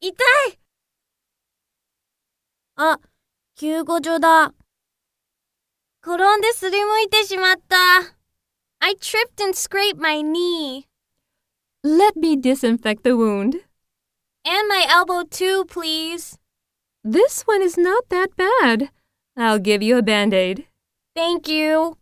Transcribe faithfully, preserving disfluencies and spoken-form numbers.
痛い。あ、救護所だ。転んですりむいてしまった。I tripped and scraped my knee. Let me disinfect the wound. And my elbow too, please. This one is not that bad. I'll give you a Band-Aid. Thank you.